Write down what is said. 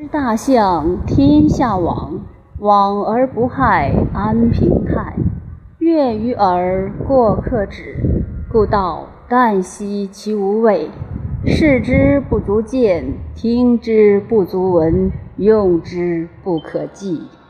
大象天下往，往而不害，安平泰。悦于耳，过客止。故道旦夕其无味，视之不足见，听之不足闻，用之不可记。